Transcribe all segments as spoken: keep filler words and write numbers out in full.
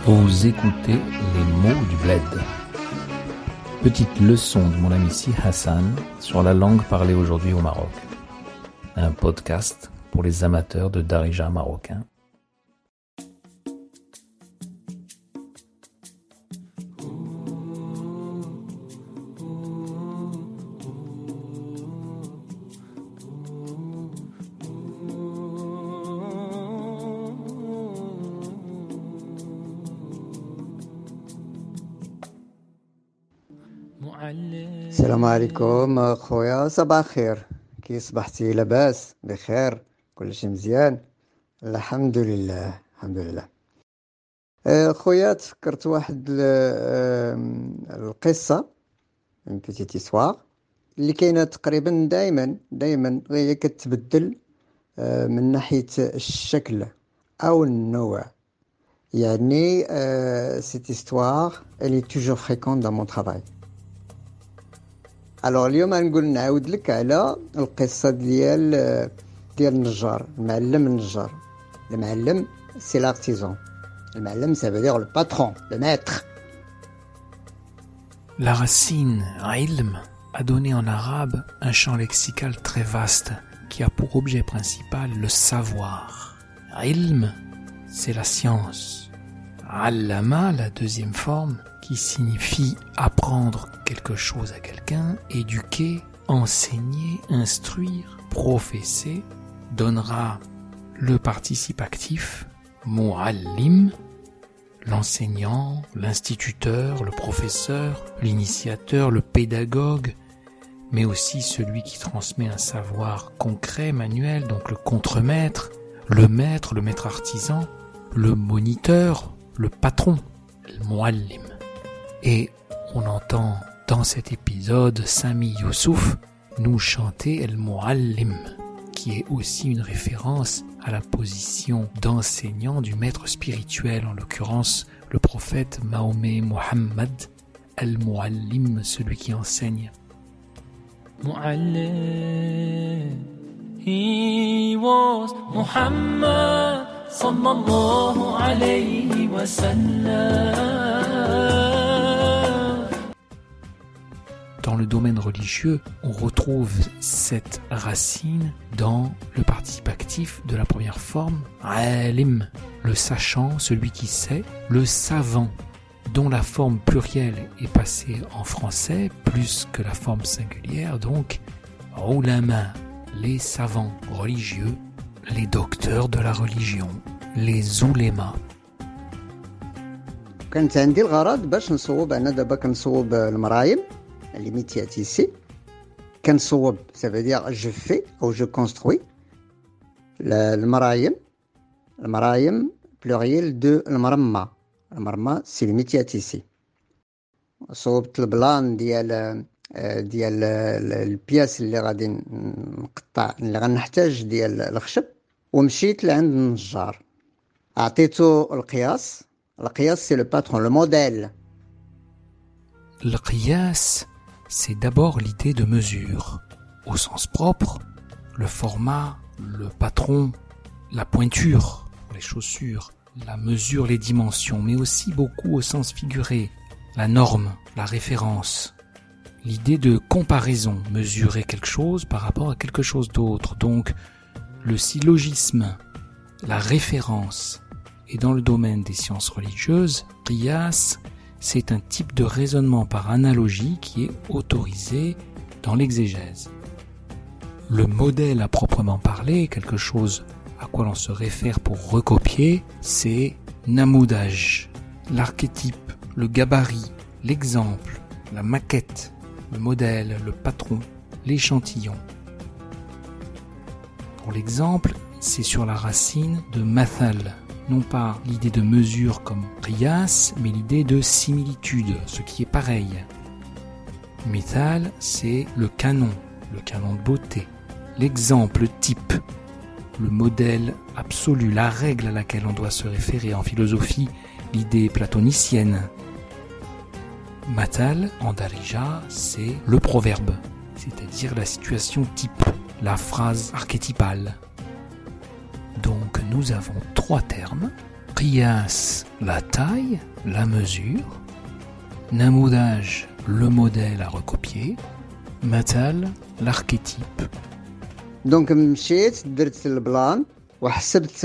Vous écoutez les mots du bled. Petite leçon de mon ami Si Hassan sur la langue parlée aujourd'hui au Maroc. Un podcast pour les amateurs de darija marocain. السلام عليكم خويا، صباح الخير. كي صبحتي؟ لاباس بخير؟ كلشي مزيان؟ الحمد لله الحمد لله. خويا تفكرت واحد القصة من بيتيت إسواغ اللي كاينه تقريبا دائما دائما هي كتبدل من ناحية الشكل او النوع. يعني cette histoire elle est toujours fréquente dans mon travail. الوغ اليوم غنقول نعاود لك على القصه ديال ديال النجار، المعلم النجار. المعلم سي l'artisan. المعلم ça veut dire le patron, le maître. La racine ilm a donné en arabe un champ lexical très vaste qui a pour objet principal le savoir. Ilm, c'est la science. Allama, la deuxième forme, qui signifie apprendre quelque chose à quelqu'un, éduquer, enseigner, instruire, professer, donnera le participe actif, mu'allim, l'enseignant, l'instituteur, le professeur, l'initiateur, le pédagogue, mais aussi celui qui transmet un savoir concret, manuel, donc le contremaître, le maître, le maître artisan, le moniteur, le patron, le mu'allim. Et on entend dans cet épisode Sami Youssouf nous chanter El Mu'allim, qui est aussi une référence à la position d'enseignant du maître spirituel, en l'occurrence le prophète Mahomet Mohammed, El Mu'allim, celui qui enseigne. Mu'allim, he was Muhammad sallallahu alayhi wa sallam. Dans le domaine religieux, on retrouve cette racine dans le participe actif de la première forme, alim, le sachant, celui qui sait, le savant, dont la forme plurielle est passée en français plus que la forme singulière, donc ulama, les savants religieux, les docteurs de la religion, les oulémas. كانت عندي الغرض باش نصوب. انا دابا كنصوب المرايم les métiers à tisser. كنصوب ça veut dire je fais ou je construis. المرايم المرايم pluriel de المرمى. المرمى c'est les métiers à tisser. صوبت البلان ديال ديال البياس اللي غادي نقطع اللي غنحتاج ديال الخشب، ومشيت لعند النجار عطيته القياس. القياس c'est le patron, le modèle. Le qiyas, c'est d'abord l'idée de mesure. Au sens propre, le format, le patron, la pointure, les chaussures, la mesure, les dimensions, mais aussi beaucoup au sens figuré, la norme, la référence. L'idée de comparaison, mesurer quelque chose par rapport à quelque chose d'autre. Donc, le syllogisme, la référence. Et dans le domaine des sciences religieuses, qiyas, c'est un type de raisonnement par analogie qui est autorisé dans l'exégèse. Le modèle à proprement parler, quelque chose à quoi l'on se réfère pour recopier, c'est namoudaj, l'archétype, le gabarit, l'exemple, la maquette, le modèle, le patron, l'échantillon. Pour l'exemple, c'est sur la racine de mathal. Non pas l'idée de mesure comme qiyas, mais l'idée de similitude, ce qui est pareil. Mithal, c'est le canon, le canon de beauté, l'exemple type, le modèle absolu, la règle à laquelle on doit se référer. En philosophie, l'idée platonicienne. Matal, en darija, c'est le proverbe, c'est-à-dire la situation type, la phrase archétypale. Donc nous avons trois termes, قياس la taille, la mesure. نموذج le modèle à recopier. مثل l'archétype. دونك مشيت درت البلان وحسبت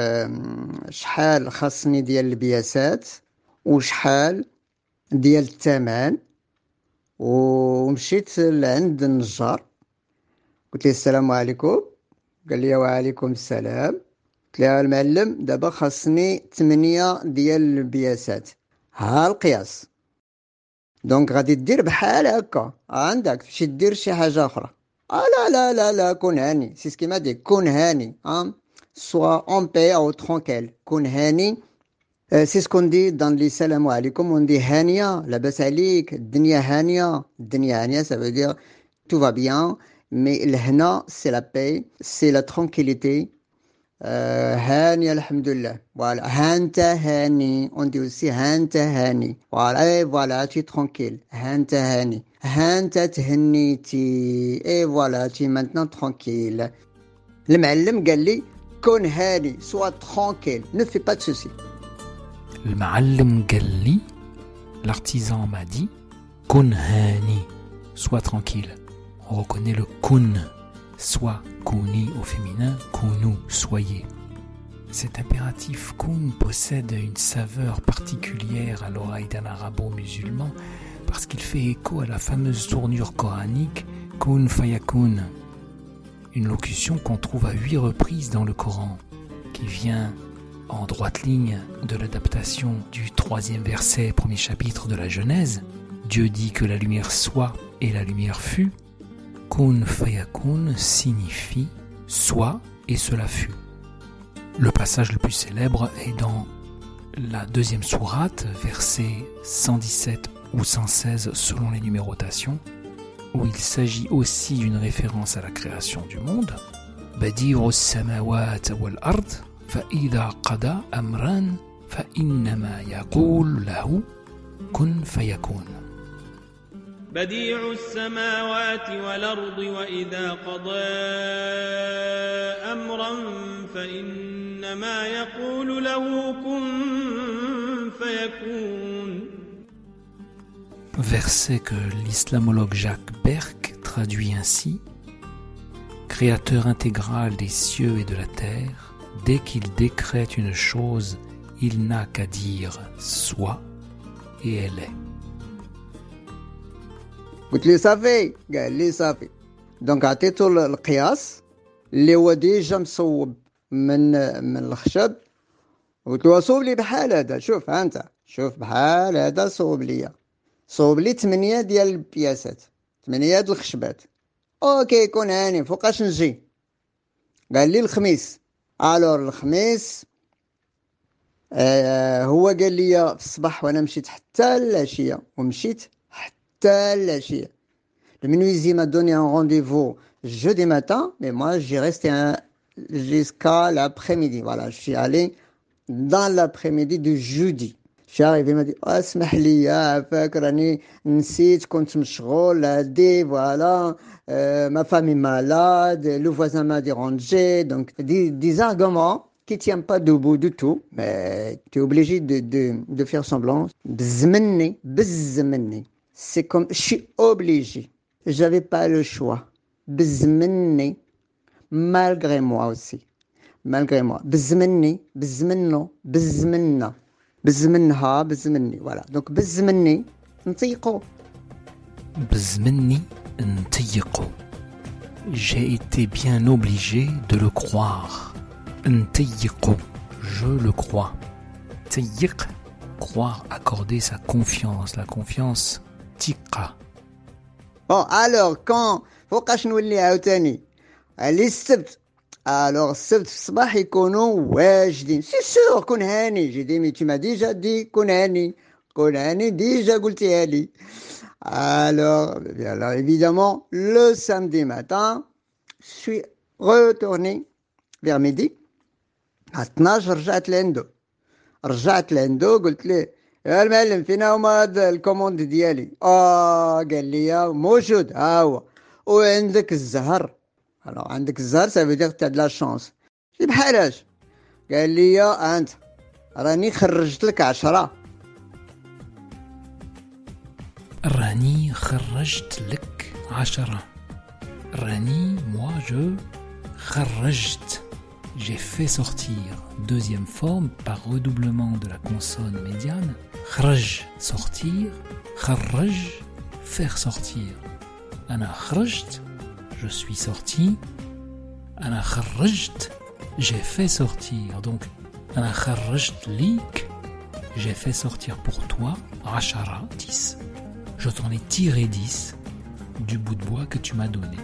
شحال خاصني ديال البياسات وشحال ديال الثمن ومشيت لعند النجار قلت له السلام عليكم قال لي وعليكم السلام قلت له المعلم دابا خاصني ثمانية ديال البياسات ها القياس دونك غادي دير بحال هكا عندك تمشي دير شي حاجه اخرى آه لا لا لا لا كون هاني سي سكي ما دي كون هاني ها سوا اون بي او ترونكيل كون هاني سي سكون دي دان لي السلام عليكم وندي هانيه لاباس عليك الدنيا هانيه الدنيا هانيه ça veut dire tout va bien mais الهنا c'est la paix c'est la tranquillité آه هانيه الحمد لله فوالا هانت هاني وندي aussi هانت هاني فوالا اي فوالا تي ترونكيل هانت هاني هانت تهنيتي اي فوالا تي maintenant tranquille المعلم قال لي كون هاني sois tranquille ne fais pas de soucis. المعلم قال لي l'artisan m'a dit كن هاني sois tranquille. On reconnaît le kun, soit kuni au féminin, kunu, soyez. Cet impératif kun possède une saveur particulière à l'oreille d'un arabo-musulman parce qu'il fait écho à la fameuse tournure coranique kun fayakun, une locution qu'on trouve à huit reprises dans le Coran, qui vient en droite ligne de l'adaptation du troisième verset, premier chapitre de la Genèse. Dieu dit que la lumière soit et la lumière fut. Kun fayakun signifie soit et cela fut. Le passage le plus célèbre est dans la deuxième sourate, verset cent dix-sept ou cent seize selon les numérotations, où il s'agit aussi d'une référence à la création du monde. Badi'u as-samawati wal-ard فإذا قضى أمرا فإنما يقول له كن فيكون. بديع السماوات والأرض وإذا قضى أمرا فإنما يقول له كن فيكون. Verset que l'islamologue Jacques Berck traduit ainsi: Créateur intégral des cieux et de la terre, dès qu'il décrète une chose, il n'a qu'à dire soit et elle est. قلت لي صافي قال لي صافي دونك عطيتو القياس اللي هو ديجا مصوب من من الخشب قلت له صوب لي بحال هذا شوف ها انت شوف بحال هذا صوب لي صوب لي ثمانية ديال البياسات ثمانية د الخشبات اوكي كون هاني فوقاش نجي قال لي الخميس الور الخميس آه هو قال لي في الصباح وانا مشيت حتى العشيه ومشيت حتى العشيه. Le menuisier m'a donné un rendez-vous jeudi matin, mais moi j'ai resté un, jusqu'à l'après-midi. Voilà, je suis allé dans l'après-midi du jeudi. Je suis arrivé, il m'a dit oh, اسمح لي عافاك راني نسيت كنت مشغول هادي voilà euh, ma femme est malade, le voisin m'a dérangé, donc des, des arguments qui ne tiennent pas debout du tout, mais tu es obligé de, de, de faire semblant. بزمني بزمني c'est comme je suis obligé, j'avais pas le choix. بزمني malgré moi aussi, malgré moi. بزمني بزمنو بزمنا بزمنها بزمني voilà donc بزمني نطيقو بزمني نطيقو. J'ai été bien obligé de le croire. نطيقو, je le crois. تيق, croire, accorder sa confiance, la confiance تيقة. Bon alors quand فوقاش نولي عاوتاني على السبت alors السبت في الصباح يكونوا واجدين سي سور كون هاني جي دي مي tu m'as déjà dit كون هاني كون هاني ديجا قلتيها لي. Alors, alors évidemment le samedi matin je suis retourné vers midi à اثناش رجعت لعنده رجعت لعنده قلت له يا المعلم فين هما هاد الكوموند ديالي اه قال لي موجود ها هو وعندك الزهر. alors عندك الزهر ça veut dire que tu as de la chance. بحالاش قال لي انت راني خرجت لك عشرة. راني خرجت لك عشرة. راني moi je خرجت. J'ai fait sortir. Deuxième forme par redoublement de la consonne médiane. خرج sortir. خرج faire sortir. أنا خرجت. Je suis sorti. أنا خرجت. J'ai fait sortir. Donc أنا خرجت ليك. J'ai fait sortir pour toi عشرة dix. Je t'en ai tiré dix du bout de bois que tu m'as donné.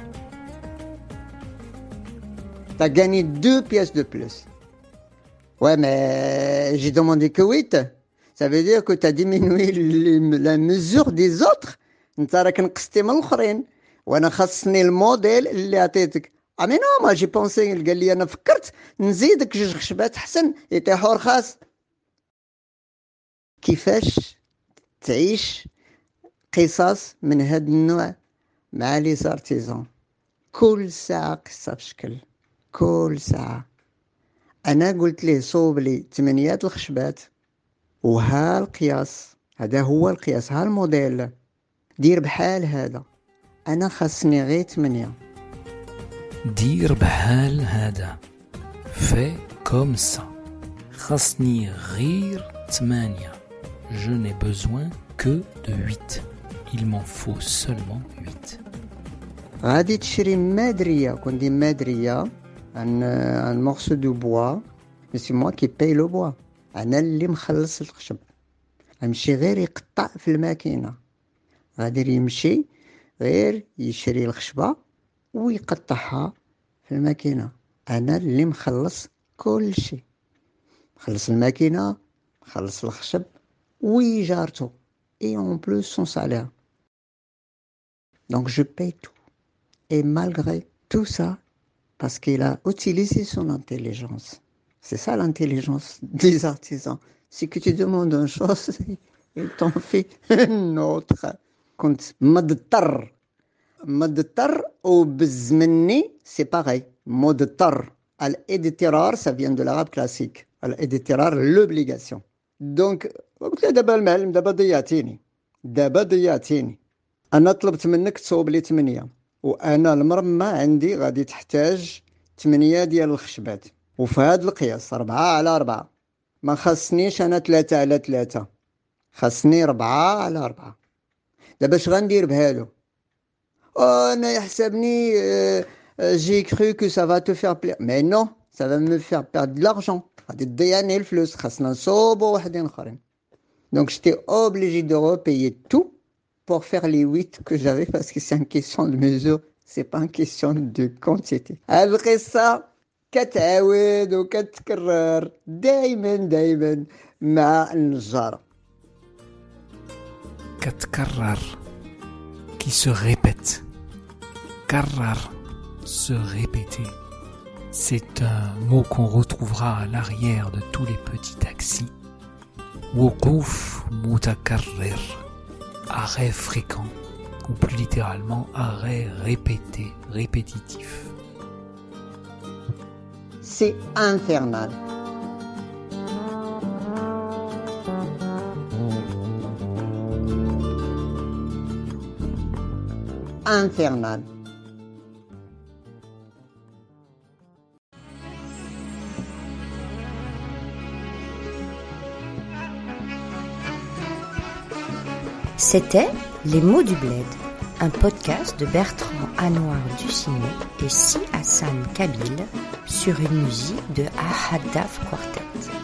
T'as gagné deux pièces de plus. Ouais, mais j'ai demandé que huit. Ça veut dire que t'as diminué la mesure des autres. انت راك نقصتي من الاخرين وانا خاصني الموديل اللي عطيتك. اه مي نو ما جي بونسي قال لي انا فكرت نزيدك جوج خشبات حسن يطيحوا رخاص. كيفاش تعيش قصص من هذا النوع مع لي زارتيزون؟ كل ساعة قصة بشكل، كل ساعة. أنا قلت ليه صوب لي ثمانية الخشبات وها القياس، هذا هو القياس، ها الموديل، دير بحال هذا. أنا خاصني غير ثمانية. دير بحال هذا. في كوم سا. خاصني غير ثمانية. Je n'ai besoin que de huit. Il m'en faut seulement huit. غادي تشري مادرية، كون دي مادرية un, un morceau de bois, mais c'est moi qui paye le bois. أنا اللي مخلص الخشب. أمشي غير يقطع في الماكينة. غادي يمشي غير يشري الخشبة ويقطعها في الماكينة. أنا اللي مخلص كل شيء. مخلص الماكينة، مخلص الخشب ويجارته. Et en plus son salaire. Donc je paye tout. Et malgré tout ça, parce qu'il a utilisé son intelligence. C'est ça l'intelligence des artisans. C'est que tu demandes une chose, il t'en fait une autre. كنت مضطر مضطر وبالزمني c'est pareil. مضطر. الاضطرار ça vient de l'arabe classique. الاضطرار l'obligation. Donc قلت له دابا المعلم دابا ضيعتيني دابا ضيعتيني انا طلبت منك تصوب لي ثمانية وانا المرمى عندي غادي تحتاج ثمانية ديال الخشبات وفي هذا القياس أربعة على أربعة. ما خاصنيش انا ثلاثة على ثلاثة، خاصني أربعة على أربعة. دابا اش غندير بهالو؟ انا يحسبني جي كرو كو سا فا تو فير بلير، مي نو سا فا مو فير بيرد دو لارجون. غادي تضيعني الفلوس، خاصنا نصوبو وحدين اخرين. Donc j'étais obligé de repayer tout pour faire les huit que j'avais parce que c'est une question de mesure, c'est pas une question de quantité. القصة كتعاود وكتكرر دايما دايما مع النجارة. كتكرر qui se répète. كرر se répéter. C'est un mot qu'on retrouvera à l'arrière de tous les petits taxis. وقوف متكرر, arrêt fréquent, ou plus littéralement arrêt répété, répétitif. C'est infernal. Infernal. C'était Les mots du bled, un podcast de Bertrand Anouar Ducinet et Si Hassan Kabil sur une musique de Ahad Daf Quartet.